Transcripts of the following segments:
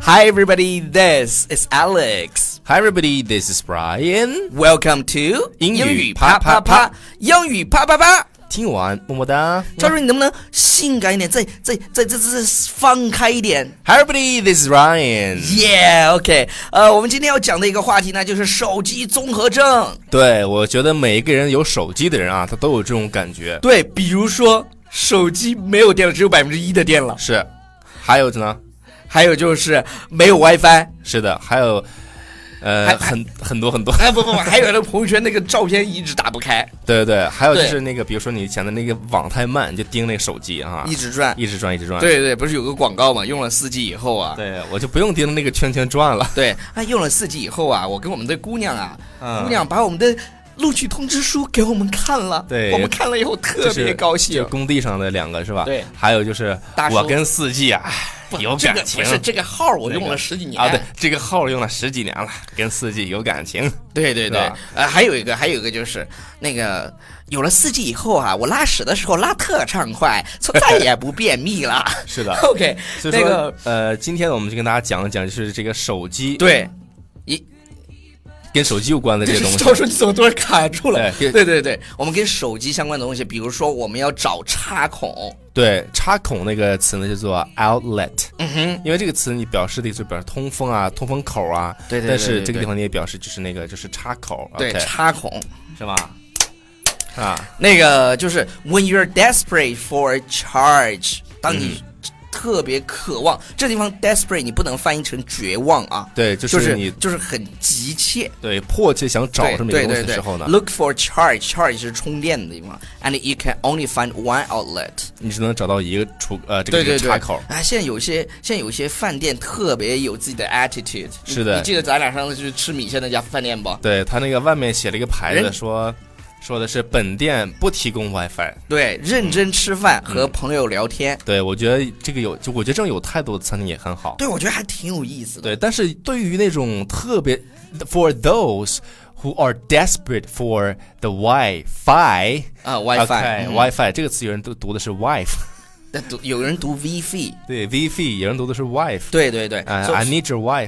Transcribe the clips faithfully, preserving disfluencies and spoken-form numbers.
Hi everybody, this is Alex. Hi everybody, this is Brian. Welcome to 英语啪啪啪，英语啪啪啪。 听完么么哒。 赵叔，你能不能性感一点，再再再再再放开一点 ？Hi everybody, this is Ryan. Yeah, OK. 呃，我们今天要讲的一个话题呢，就是手机综合症。 对，我觉得每一个人有手机的人啊，他都有这种感觉。 对，比如说手机没有电了，只有百分之一的电了。 是，还有呢？ 还有就是没有 WiFi。 是的，还有。呃，很很多很多， 哎不不不，还有那朋友圈那个照片一直打不开。 对对对，还有就是那个，比如说你以前的那个网太慢，就盯那个手机啊， 一直转， 一直转，一直转。 对对，不是有个广告嘛？用了四 G 以后啊， 对我就不用盯着那个圈圈转了。 对，啊，用了四 G 以后啊，我跟我们的姑娘啊， 嗯、 姑娘把我们的录取通知书给我们看了， 对， 我们看了以后特别高兴。 就是、工地上的两个是吧？ 对， 还有就是我跟四 G 啊。有感情， 这个不是这个号我用了十几年、 那个、啊，对，这个号用了十几年了，跟四 G 有感情。 对对对，呃，还有一个，还有一个就是那个有了四 G 以后啊，我拉屎的时候拉特畅快，就再也不便秘了。 是的 ，OK， 所以说、那个、呃，今天我们就跟大家讲一讲，就是这个手机， 对，一。 跟手机有关的这些东西， 赵叔你怎么突然卡住了？ 对对对对，我们跟手机相关的东西，比如说我们要找插孔。 对，插孔那个词呢叫做 outlet， 嗯哼， 因为这个词你表示的就表示通风啊、通风口啊， 对对对对对， 但是这个地方你也表示就是那个就是插口， 对， okay, 插孔是吧？啊， 那个就是 when you're desperate for a charge， 当你、嗯特别渴望，这地方 desperate 你不能翻译成绝望啊， 对，就是你、 就是、就是很急切， 对，迫切想找这么一个东西的时候呢 ，look for charge，charge 是充电的地方 ，and you can only find one outlet， 你只能找到一个出呃这个对对对插口。 啊，现在有些现在有些饭店特别有自己的 attitude， 是的， 你记得咱俩上次去吃米线那家饭店不？ 对他那个外面写了一个牌子说。说的是本店不提供 WiFi， 对，认真吃饭、嗯、和朋友聊天。 对，我觉得这个有，就我觉得这种有态度的餐厅也很好。 对，我觉得还挺有意思的。 对，但是对于那种特别 ，for those who are desperate for the WiFi 啊 ，WiFi，WiFi、 嗯、这个词有人都读的是 wife， 但读有人读 WiFi， 对 WiFi， 有人读的是 wife， 对对对、 uh, ，I need your wife 。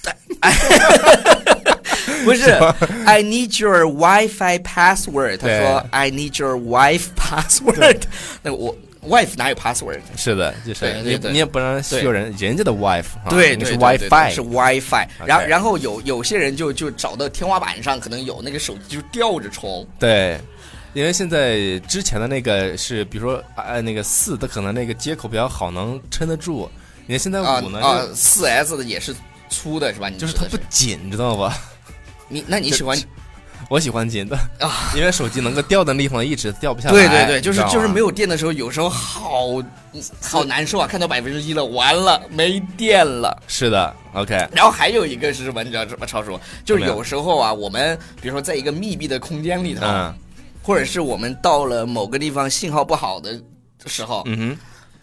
不是 ，I need your WiFi password。他说 I need your wife password。那我 wife 哪有 password？ 是的，就是对对对你你也不能需要人人家的 wife， 对对对， 是 WiFi， 是 WiFi。然后然后有有些人就就找到天花板上，可能有那个手机就吊着充。 对。因为现在之前的那个是，比如说呃那个四的可能那个接口比较好，能撑得住。你看现在五呢？ 啊，四 S 的也是粗的是吧？你就是它不紧，你知道吧？ 你那你喜欢？ 我喜欢紧的啊，因为手机能够掉的地方一直掉不下来。 对对对，就是就是没有电的时候，有时候好好难受啊！看到百分之一了，完了没电了。 是的 ，OK。 然后还有一个是什么？你知道什么？超叔，就是有时候啊，我们比如说在一个密闭的空间里头， 嗯、 或者是我们到了某个地方信号不好的时候， 嗯哼。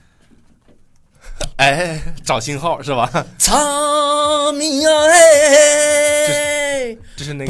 哎，找信号是吧？ 草民啊，哎， 这是那个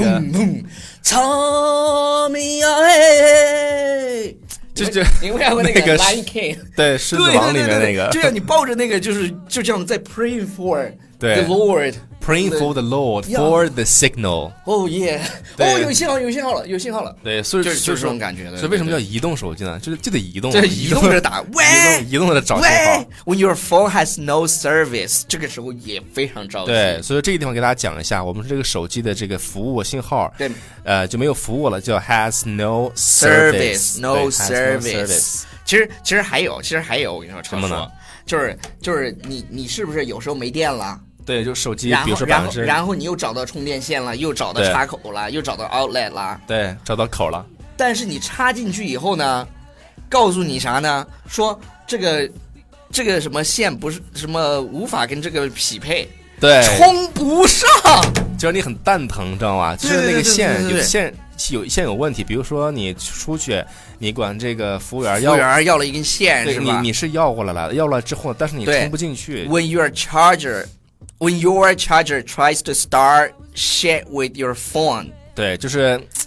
草民啊，哎， 就就你们看过那个《Lion King》？ 对，狮子王里面那个， 就像你抱着那个，就是就这样在 praying for the Lord。Praying for the Lord for the signal. Oh yeah! 哦，有信号，有信号了，有信号了。 对，所以就是就是这种感觉的。 所以为什么叫移动手机呢？就是就得移动， 对，移动着打，喂， 移动着找信号。 When your phone has no service， 这个时候也非常着急。 对，所以这个地方给大家讲一下，我们这个手机的这个服务信号， 对， 呃，就没有服务了，叫 has no service，no service。其实其实还有，其实还有，我跟你说， 什么呢？ 就是就是你你是不是有时候没电了？ 对，就手机，比如说然后然后你又找到充电线了，又找到插口了，又找到 outlet 了， 对，找到口了。 但是你插进去以后呢，告诉你啥呢？说这个这个什么线不是什么无法跟这个匹配， 对， 充不上， 就让你很蛋疼，知道吗？就是那个线有线有线有问题，比如说你出去，你管这个服务员要， 服务员要了一根线， 对， 是吧？ 你你是要过来了，要了之后，但是你充不进去。 When your charger。When your charger tries to start shit with your phone， 对，就是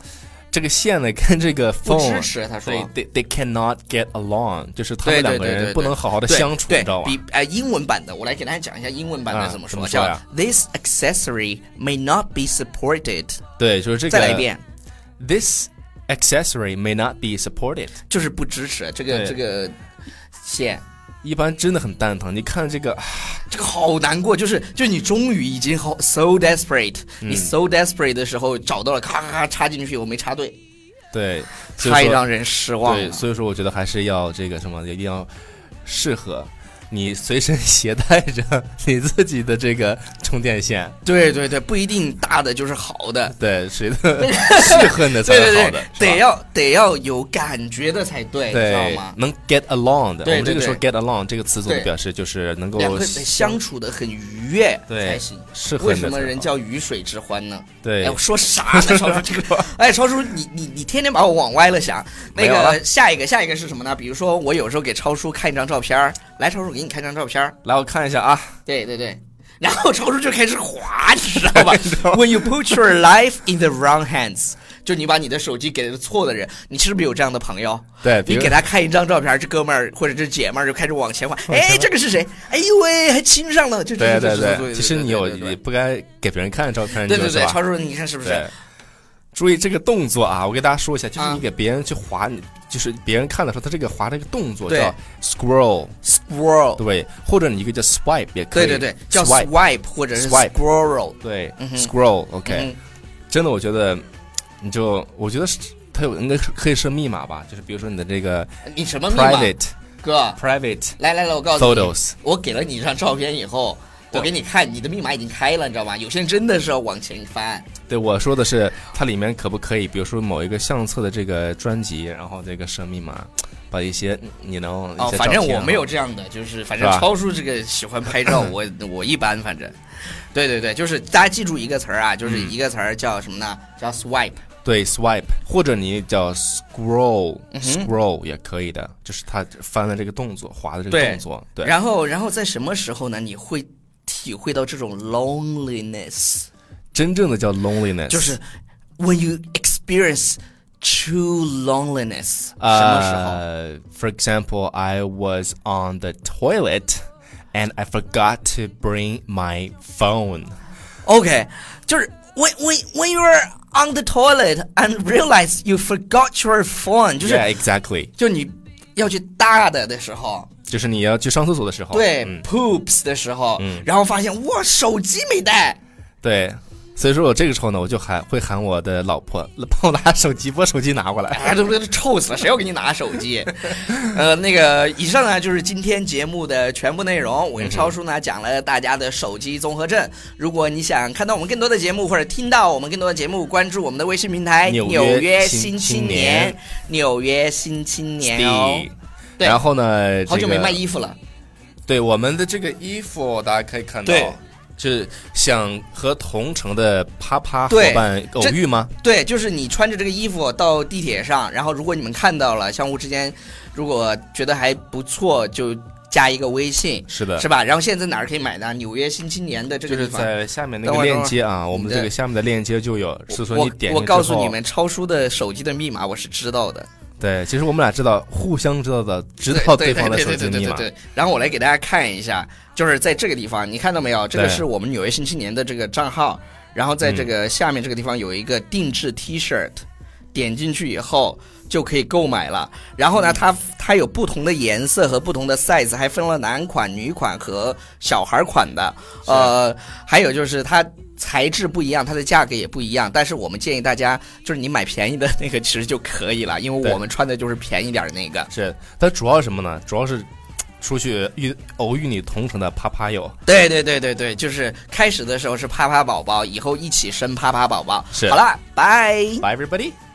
这个线呢跟这个 phone 不支持，他说 they they cannot get along， 就是他们两个人不能好好的相处， 你知道吧？ 比呃英文版的，我来给大家讲一下英文版的怎么说， 啊、怎么说呀？ 叫 This accessory may not be supported。 对，就是这个。 再来一遍 ，This accessory may not be supported， 就是不支持这个这个线。 一般真的很蛋疼，你看这个， 这个好难过，就是就你终于已经好 so desperate，、嗯、你 so desperate 的时候找到了，咔咔咔插进去，我没插对， 对， 太让人失望了。 对，所以说我觉得还是要这个什么，一定要适合你随身携带着你自己的这个充电线。 对对对，不一定大的就是好的， 对，谁的适合的才是好的， 对对对，得要得要有感觉的才对， 对， 知道吗？ 能 get along 的。 对对对， 我们这个时候 get along 这个词组表示就是能够两个相处的很愉悦才行， 适合。 为什么人叫鱼水之欢呢？ 对， 哎，我说啥呢？超叔这个，哎，超叔，你你你天天把我往歪了想。那个下一个下一个是什么呢？比如说我有时候给超叔看一张照片，来，超叔给你看张照片， 来我看一下啊。 对对对，然后超叔就开始滑，你知道吧？When you put your life in the wrong hands， 就你把你的手机给了错的人，你是不是有这样的朋友？ 对， 你给他看一张照片，这哥们儿或者这姐们儿就开始往前滑，哎，这个是谁？哎呦喂，还亲上了，就对对对。其实你有也不该给别人看照片， 对对对，超叔，你看是不是？ 注意这个动作啊！我给大家说一下，就是你给别人去滑，你、啊、就是别人看的时候，他这个滑这个动作叫 scroll，scroll， 对，或者你一个叫 swipe 也可以， 对对对，叫 swipe 或者是 scroll， 对、 嗯、 ，scroll，OK，、okay 嗯、 真的，我觉得你就我觉得它有应该可以设密码吧，就是比如说你的这个你什么密码 private 哥 private， 来来来，我告诉你 photos， 我给了你一张照片以后。我给你看，你的密码已经开了，你知道吗？有些人真的是要往前翻。 对，我说的是它里面可不可以，比如说某一个相册的这个专辑，然后这个设密码，把一些你能哦，反正我没有这样的，就是反正超叔这个喜欢拍照，我我一般，反正，对对对，就是大家记住一个词儿啊，就是一个词儿叫什么呢？叫 swipe。 对 ，swipe， 或者你叫 scroll，scroll、 嗯、 scroll 也可以的，就是它翻的这个动作，滑的这个动作。对。 对然后，然后在什么时候呢？你会体会到这种 loneliness， 真正的叫 loneliness， 就是 when you experience true loneliness， uh, 什么时候 ？For example, I was on the toilet and I forgot to bring my phone. OK， 就是 when when when you're on the toilet and realize you forgot your phone， 就是 yeah, exactly， 就你要去大的的时候。 就是你要去上厕所的时候， 对、 嗯、 ，poops 的时候、 嗯， 然后发现哇，手机没带， 对，所以说我这个时候呢，我就喊会喊我的老婆帮我拿手机，把手机拿过来。 哎，这不臭死了，谁要给你拿手机？呃，那个以上呢就是今天节目的全部内容。我跟超叔呢讲了大家的手机综合症。如果你想看到我们更多的节目，或者听到我们更多的节目，关注我们的微信平台《纽约新青年》，纽约新青年哦。 然后呢、这个， 好久没卖衣服了。 对，我们的这个衣服大家可以看到，是想和同城的啪啪伙伴偶遇吗？ 对，就是你穿着这个衣服到地铁上，然后如果你们看到了，相互之间如果觉得还不错，就加一个微信， 是的， 是吧？然后现在哪儿可以买呢？纽约新青年的这个地方， 就是在下面那个链接啊，我们这个下面的链接就有，是说你点我我告诉你们，超叔的手机的密码我是知道的。 对，其实我们俩知道，互相知道的，知道对方的手机密码。 对，然后我来给大家看一下，就是在这个地方，你看到没有？这个是我们纽约新青年的这个账号，然后在这个下面这个地方有一个定制 T 恤，点进去以后就可以购买了。然后呢，它它有不同的颜色和不同的 size， 还分了男款、女款和小孩款的。呃，还有就是它。材质不一样，它的价格也不一样，但是我们建议大家就是你买便宜的那个其实就可以了，因为我们穿的就是便宜点的那个。 是，它主要是什么呢？主要是出去遇偶遇你同城的啪啪友。 对对对对对，就是开始的时候是啪啪宝宝，以后一起生啪啪宝宝。 是， 好了，拜 ，Bye everybody。